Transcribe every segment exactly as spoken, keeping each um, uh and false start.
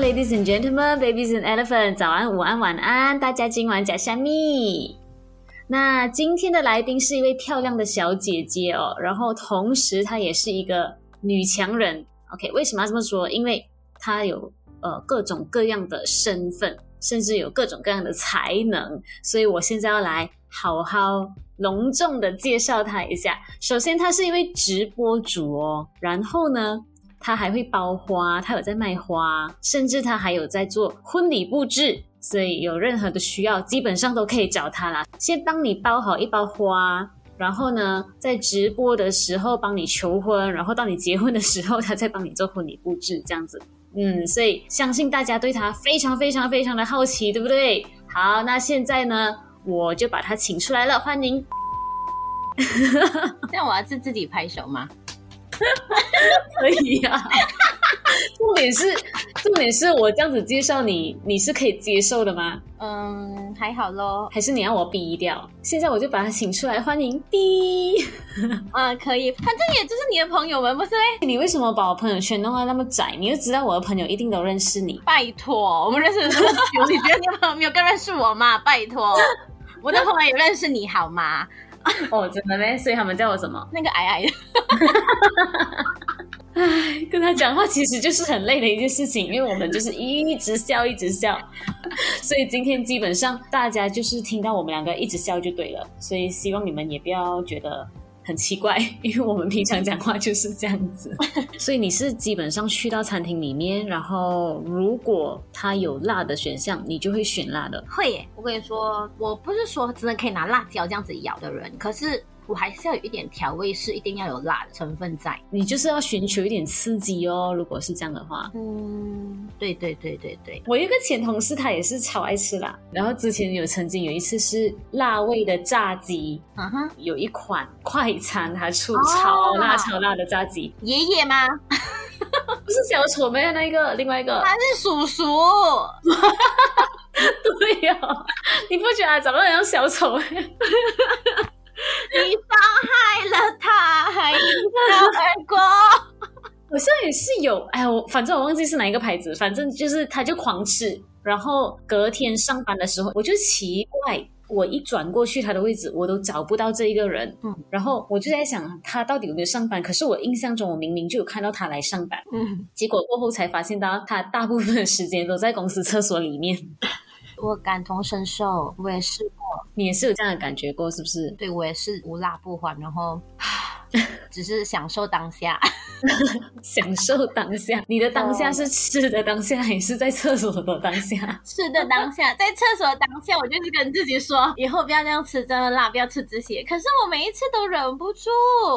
Ladies and gentlemen, babies and elephants， 早安、午安、晚安，大家今晚假蝦米。那今天的來賓是一位漂亮的小姐姐哦，然後同時她也是一個女強人。OK， 為什麼要這麼說？因為她有呃各種各樣的身份，甚至有各種各樣的才能，所以我現在要來好好隆重的介紹她一下。首先，她是一位直播主哦，然後呢，她還會包花，她有在賣花，甚至她還有在做婚禮布置。所以有任何的需要基本上都可以找他啦，先幫你包好一包花，然後呢在直播的時候幫你求婚，然後到你結婚的時候他再幫你做婚禮布置這樣子。嗯，所以相信大家對他非常非常非常的好奇，對不對？好，那現在呢我就把他請出來了，歡迎。 這樣我要自自己拍手嗎？ 可以啊。重點是重點是我這樣子介紹你，你是可以接受的嗎？ 嗯，還好咯。還是你要我逼掉？現在我就把他請出來，歡迎逼。 嗯，可以，反正也就是你的朋友們，不是嘞？ 你為什麼把我朋友圈弄得那麼窄？你就知道我的朋友一定都認識你。 拜託，我們認識的這麼久，你覺得你的朋友沒有更認識我嗎？拜託，我的朋友也認識你好嗎？ 哦，真的咩？所以他們叫我什麼？ 那個矮矮的。 唉，跟他講話其實就是很累的一件事情，因為我們就是一直笑一直笑，所以今天基本上大家就是聽到我們兩個一直笑就對了，所以希望你們也不要覺得很奇怪，因為我們平常講話就是這樣子。所以你是基本上去到餐廳裡面，然後如果它有辣的選項，你就會選辣的？ 會耶，我跟你說，我不是說真的可以拿辣椒這樣子咬的人，可是我還是要有一點調味，是一定要有辣的成分在。 你就是要尋求一點刺激哦，如果是這樣的話。 嗯，對對對對對。 我有一個前同事，他也是超愛吃辣，然後之前有曾經有一次是辣味的炸雞，嗯哼，有一款快餐它出超辣、哦、超辣的炸雞。 爺爺嗎？ 不是小丑沒有那個，另外一個。 他是叔叔。 對呀、哦，你不覺得他長得很像小丑嗎？ 你傷害了他，還一笑而過。 好像也是有，哎呀，我反正我忘記是哪一個牌子，反正就是他就狂吃，然後隔天上班的時候，我就奇怪，我一轉過去他的位置，我都找不到這一個人，嗯，然後我就在想他到底有沒有上班，可是我印象中我明明就有看到他來上班，嗯，結果過後才發現到他大部分的時間都在公司廁所裡面。 我感同身受，我也試過。 你也是有這樣的感覺過是不是？ 對，我也是無辣不歡，然後只是享受當下。 享受當下，你的當下是吃的當下還是在廁所的當下？ 吃的當下，在廁所的當下，我就是跟自己說以後不要這樣吃這麼辣，不要吃這些，可是我每一次都忍不住。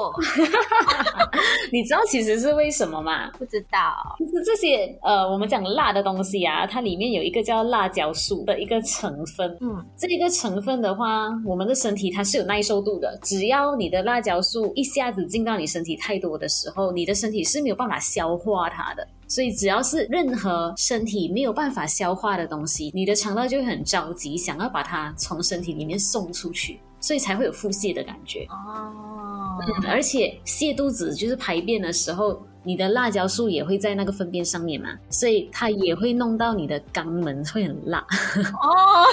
你知道其實是為什麼嗎？ 不知道。 就是這些呃我們講辣的東西啊，它裡面有一個叫辣椒素的一個成分，嗯，這一個成分的話，我們的身體它是有耐受度的，只要你的辣椒素一下子進到你身體太多的時候，你的身體是沒有辦法消化它的，所以只要是任何身體沒有辦法消化的東西，你的腸道就會很着急想要把它從身體裡面送出去，所以才會有腹瀉的感覺。哦，嗯，而且瀉肚子就是排便的時候，你的辣椒素也會在那個糞便上面嘛，所以它也會弄到你的肛門會很辣。哦，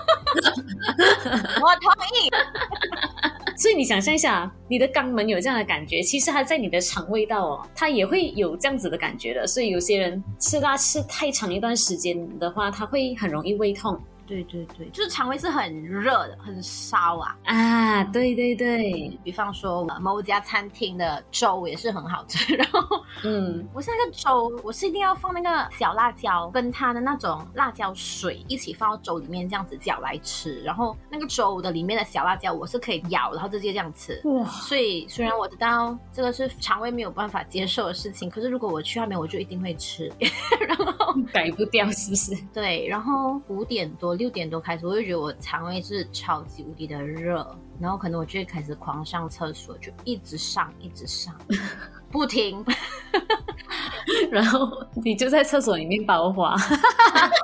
我同意。 所以你想象一下，你的肛門有這樣的感覺，其實它在你的腸胃道哦，它也會有這樣子的感覺的。所以有些人吃辣吃太長一段時間的話，它會很容易胃痛。 對对对，就是腸胃是很熱的，很燒啊啊！对对对， 比方說某家餐廳的粥也是很好吃，然後嗯，我是那個粥，我是一定要放那個小辣椒跟它的那種辣椒水一起放到粥裡面，這樣子攪來吃。然後那個粥的裡面的小辣椒我是可以咬，然後直接這樣吃。哇！所以雖然我知道這個是腸胃沒有辦法接受的事情，可是如果我去外面，我就一定會吃。然後改不掉是不是？ 對，然後五點多六點多開始，我就覺得我腸胃是超級無敵的熱，然後可能我就會開始狂上廁所，就一直上一直上不停。 然後你就在廁所裡面包花。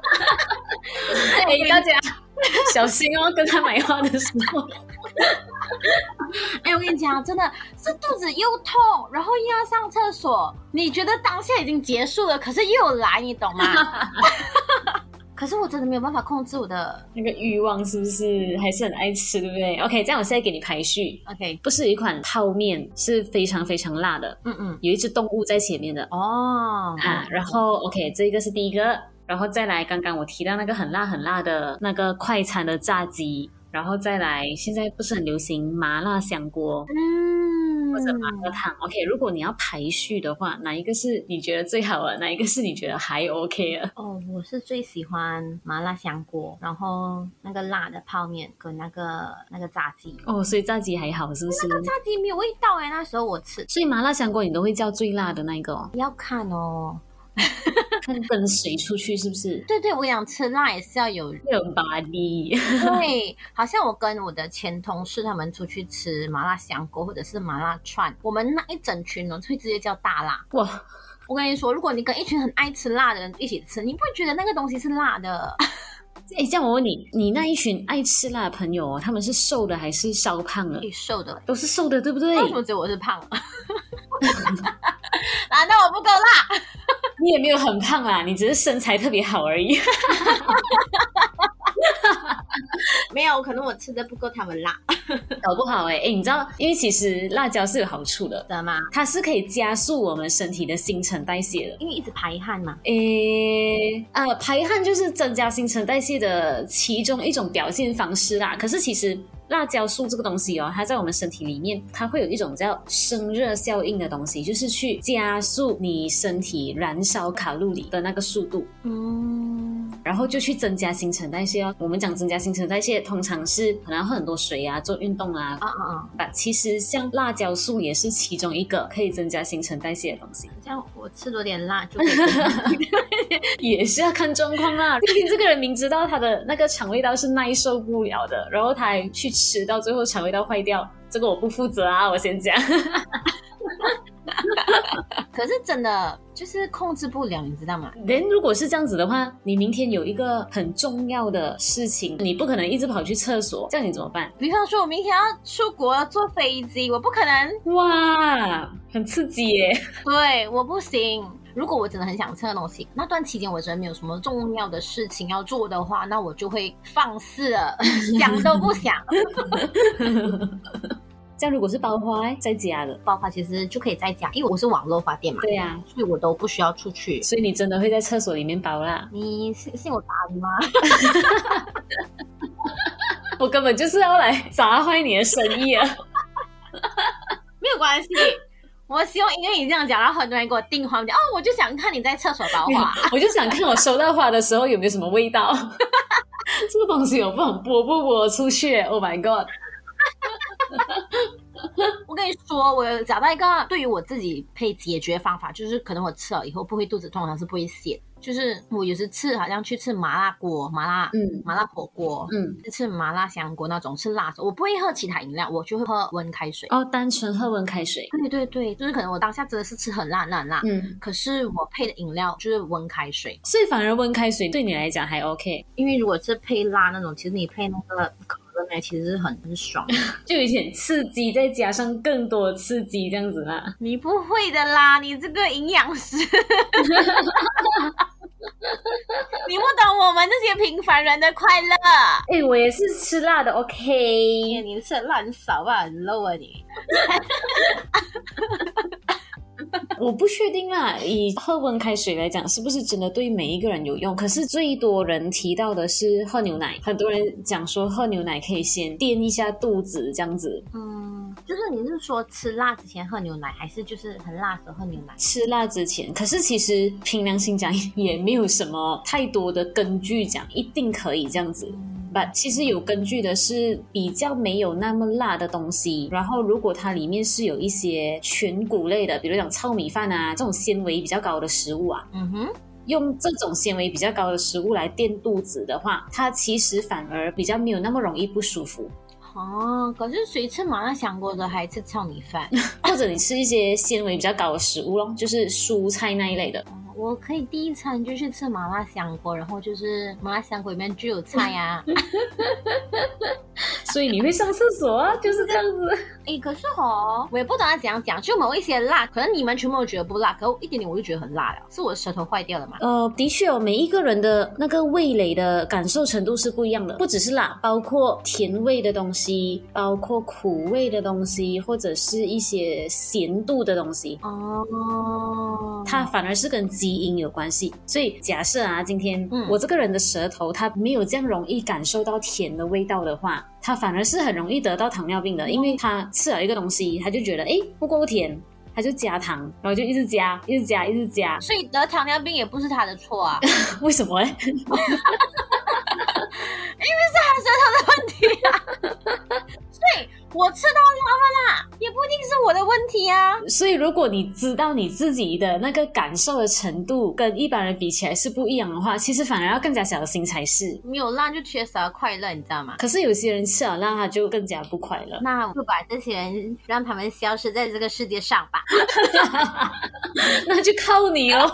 哎，大家小心哦，跟他買花的時候。 哎、欸，我跟你講，真的是肚子又痛，然後又要上廁所，你覺得當下已經結束了，可是又來，你懂嗎？可是我真的沒有辦法控制我的那個慾望，是不是還是很愛吃，對不對 ？OK， 這樣我現在給你排序。 OK， 不是一款泡麵是非常非常辣的，嗯嗯，有一隻動物在前面的哦啊，然後 OK， 這個是第一個，然後再來剛剛我提到那個很辣很辣的那個快餐的炸雞，然後再來現在不是很流行麻辣香鍋，嗯。或者麻辣燙 ，OK。如果你要排序的話，哪一個是你覺得最好的？哪一個是你覺得還 OK 的？ 哦，我是最喜歡麻辣香鍋，然後那個辣的泡麵跟那個那個炸雞。 哦，所以炸雞還好，是不是？ 那個炸雞沒有味道哎，那時候我吃。 所以麻辣香鍋你都會叫最辣的那一個哦？ 要看哦。 看跟誰出去是不是？ 對對，我想吃辣也是要有有 body。 對，好像我跟我的前同事他們出去吃麻辣香鍋或者是麻辣串，我們那一整群呢會直接叫大辣。哇！我跟你說，如果你跟一群很愛吃辣的人一起吃，你不會覺得那個東西是辣的。 哎，這樣我問你，你那一群愛吃辣的朋友哦，他們是瘦的還是燒胖了？ 瘦的， 都是瘦的，對不對？ 為什麼只有我是胖？難道我不夠辣？ 你也沒有很胖啦，你只是身材特別好而已。 沒有，可能我吃的不夠他們辣， 搞不好哎、欸、哎，你知道，因為其實辣椒是有好處的， 知道嗎？ 它是可以加速我們身體的新陳代謝的， 因為一直排汗嘛。 誒，呃，排汗就是增加新陳代謝的其中一種表現方式啦。可是其實辣椒素這個東西哦，它在我們身體裡面，它會有一種叫生熱效應的東西，就是去加速你身體燃燒卡路里的那個速度。嗯，然後就去增加新陳代謝哦。我們講增加新陳代謝，通常是可能要喝很多水啊，做運動啊。啊啊啊！但其實像辣椒素也是其中一個可以增加新陳代謝的東西。 這樣我吃多點辣就可以增加也是要看狀況啦。畢竟這個人明知道他的那個腸胃道是耐受不了的，然後他還去吃到最後腸胃道壞掉，這個我不負責啊，我先講。 可是真的就是控制不了，你知道嗎？ 人如果是這樣子的話，你明天有一個很重要的事情，你不可能一直跑去廁所，這樣你怎麼辦？ 比方說我明天要出國坐飛機，我不可能。 哇，很刺激耶。 對，我不行。如果我真的很想吃的東西，那段期間我真的沒有什麼重要的事情要做的話，那我就會放肆了，想都不想。 這樣如果是包花在家的， 包花其實就可以在家，因為我是網絡花店嘛。 對呀、啊， 所以我都不需要出去。 所以你真的會在廁所裡面包啦？ 你信信我打你嗎？ 我根本就是要來砸壞你的生意啊！ 沒有關係。我希望因為你這樣講，然後很多人給我訂花，我講哦，我就想看你在廁所包花， 我就想看我收到花的時候有沒有什麼味道。這個東西我不能播不播出去 ？Oh my god！ 我跟你說，我有找到一個對於我自己可以解決方法，就是可能我吃了以後不會肚子痛，但是不會瀉。就是我有時吃，好像去吃麻辣鍋、麻辣嗯麻辣火鍋，嗯，吃麻辣香鍋那種吃辣的，我不會喝其他飲料，我就會喝溫開水。 哦，單純喝溫開水。 對對對，就是可能我當下真的是吃很辣很辣很辣，嗯，可是我配的飲料就是溫開水， 所以反而溫開水對你來講還 OK。 因為如果是配辣那種，其實你配那個可樂呢，其實是很很爽的， 就有點刺激，再加上更多的刺激這樣子啦。 你不會的啦，你這個營養師。你不懂我們這些平凡人的快樂。 哎、欸，我也是吃辣的 ，OK。 你吃的辣很少吧，很 low 啊你。 我不確定啦，以喝溫開水來講，是不是真的對每一個人有用？可是最多人提到的是喝牛奶，很多人講說喝牛奶可以先墊一下肚子，這樣子。嗯， 就是你是說吃辣之前喝牛奶，還是就是很辣的時候喝牛奶？ 吃辣之前，可是其實憑良心講，也沒有什麼太多的根據講一定可以這樣子。But 其實有根據的是比較沒有那麼辣的東西，然後如果它裡面是有一些全穀類的，比如講糙米飯啊這種纖維比較高的食物啊，嗯哼，用這種纖維比較高的食物來墊肚子的話，它其實反而比較沒有那麼容易不舒服。 哦，可是誰吃麻辣香鍋的還吃糙米飯？ 或者你吃一些纖維比較高的食物咯，就是蔬菜那一類的。 我可以第一餐就去吃麻辣香鍋，然後就是麻辣香鍋裡面就有菜啊。 所以你會上廁所啊，就是這樣子。 哎，可是哦，我也不懂他怎樣講，就某一些辣，可能你們全部都覺得不辣，可是一點點我就覺得很辣了，是我的舌頭壞掉了嗎？ 呃，的確哦，每一個人的那個味蕾的感受程度是不一樣的，不只是辣，包括甜味的東西，包括苦味的東西，或者是一些鹹度的東西。哦，它反而是跟基因有關係。所以假設啊，今天、嗯、我這個人的舌頭它沒有這樣容易感受到甜的味道的話，它反而是很容易得到糖尿病的，因為它吃了一個東西，它就覺得誒不夠甜，它就加糖，然後就一直加一直加一直加， 所以得糖尿病也不是他的錯啊。 為什麼呢？ 因為是他舌頭的問題啊。所以我吃到辣不辣也不一定是我的問題啊。 所以如果你知道你自己的那個感受的程度跟一般人比起來是不一樣的話，其實反而要更加小心才是。 没有辣就缺少快樂，你知道嗎？ 可是有些人吃了辣他就更加不快樂。 那我就把這些人讓他們消失在這個世界上吧。 那就靠你哦。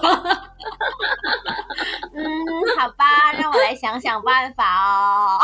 嗯，好吧，让我來想想辦法哦。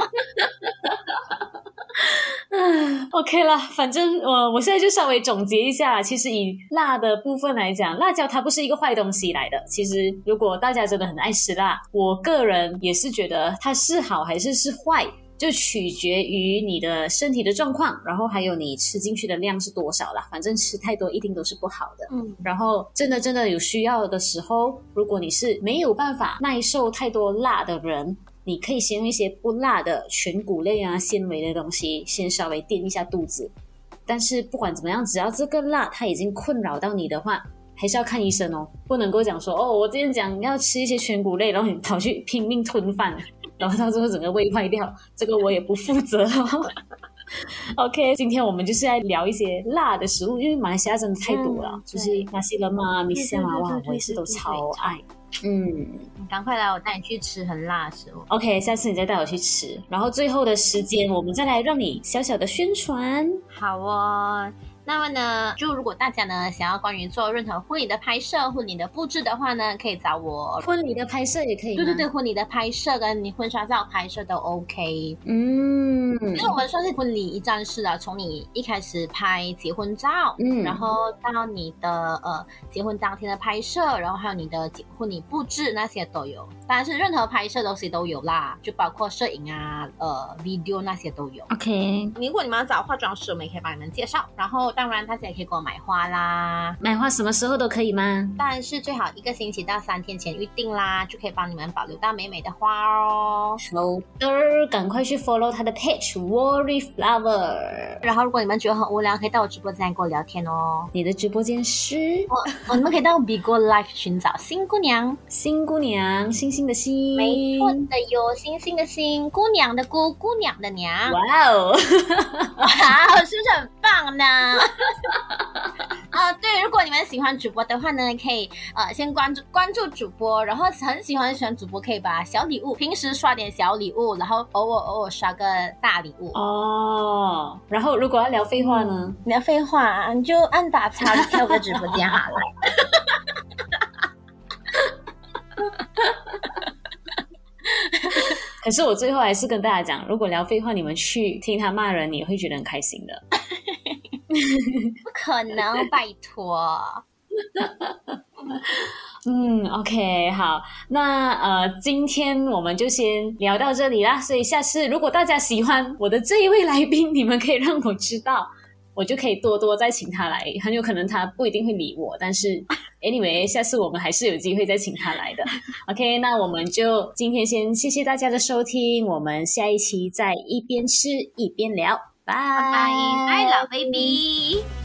OK 啦，反正我我現在就稍微總結一下，其實以辣的部分來講，辣椒它不是一個壞東西來的。其實如果大家真的很愛吃辣，我個人也是覺得它是好還是是壞，就取決於你的身體的狀況，然後還有你吃進去的量是多少啦。反正吃太多一定都是不好的。嗯，然後真的真的有需要的时候，如果你是沒有辦法耐受太多辣的人，你可以先用一些不辣的全穀類啊、纖維的東西先稍微墊一下肚子。但是不管怎麼樣，只要這個辣它已經困擾到你的話，還是要看醫生哦，不能夠講說哦，我之前講要吃一些全穀類，然後你跑去拼命吞飯，然後到最後整個胃壞掉，這個我也不負責哦。OK， 今天我們就是來聊一些辣的食物，因為馬來西亞真的太多了，嗯、就是那些人嘛、米線啊，哇，我也是都超愛。嗯， 你趕快來，我帶你去吃很辣的食物。 OK， 下次你再帶我去吃，然後最後的時間我們再來讓你小小的宣傳。 好哦。那麼呢，就如果大家呢想要關於做任何婚禮的拍攝、婚禮的布置的話呢，可以找我。 婚禮的拍攝也可以嗎？ 對對對，婚禮的拍攝跟你婚紗照拍攝都 OK。 嗯， 因為我們算是婚禮一站式啊，從你一開始拍結婚照，嗯，然後到你的呃結婚當天的拍攝，然後還有你的婚禮布置那些都有。當然是任何拍攝東西都有啦，就包括攝影啊、呃 video 那些都有。 OK， 如果你們要找化妝師，我們也可以幫你們介紹。然後當然大家也可以給我買花啦， 買花什麼時候都可以嗎？ 當然是最好一個星期到三天前預定啦，就可以幫你們保留到美美的花哦。 好的，趕快去 follow 他的 page Worry Flower。 然後如果你們覺得很無聊，可以到我直播間跟我聊天哦。 你的直播間是？ 哦哦，你們可以到 Bigo Live 尋找新姑娘， 新姑娘，星星的星， 沒錯的喲，星星的星，姑娘的姑，姑娘的娘。 哇哦， 哇，是不是很棒呢？啊，對，如果你們喜歡主播的話呢，可以呃先關注關注主播，然後很喜歡喜歡主播，可以把小禮物，平時刷點小禮物，然後偶爾偶爾刷個大禮物哦。然後如果要聊廢話呢？ 嗯、聊廢話你就按打叉跳個直播間好了。 可是我最後還是跟大家講，如果聊廢話，你們去聽他罵人，你會覺得很開心的。 不可能，拜託。 嗯 OK 好，那呃今天我們就先聊到這裡啦，所以下次如果大家喜歡我的這一位來賓，你們可以讓我知道，我就可以多多再請他來，很有可能他不一定會理我，但是 anyway 下次我們還是有機會再請他來的。OK， 那我們就今天先謝謝大家的收聽，我們下一期再一邊吃一邊聊，拜拜， 拜拜，老 baby。